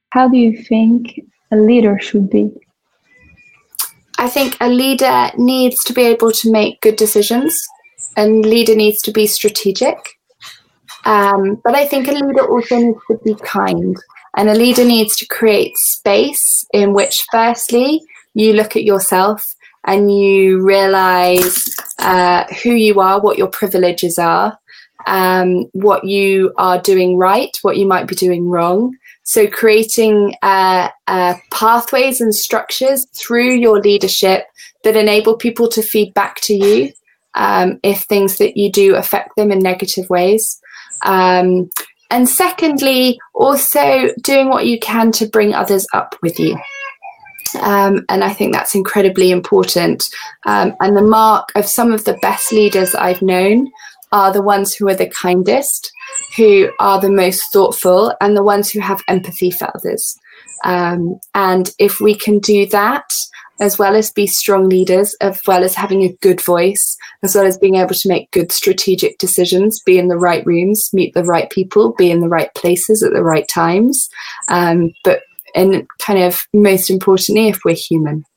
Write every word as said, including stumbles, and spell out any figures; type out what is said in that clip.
How do you think a leader should be? I think a leader needs to be able to make good decisions, and leader needs to be strategic. Um, but I think a leader also needs to be kind, and a leader needs to create space in which, firstly, you look at yourself and you realize uh, who you are, what your privileges are, um, what you are doing right, what you might be doing wrong. So creating uh, uh, pathways and structures through your leadership that enable people to feed back to you um, if things that you do affect them in negative ways. Um, and secondly, also doing what you can to bring others up with you. Um, and I think that's incredibly important. Um, and the mark of some of the best leaders I've known are the ones who are the kindest, who are the most thoughtful, and the ones who have empathy for others. Um, and if we can do that, as well as be strong leaders, as well as having a good voice, as well as being able to make good strategic decisions, be in the right rooms, meet the right people, be in the right places at the right times, um, but and kind of most importantly, if we're human.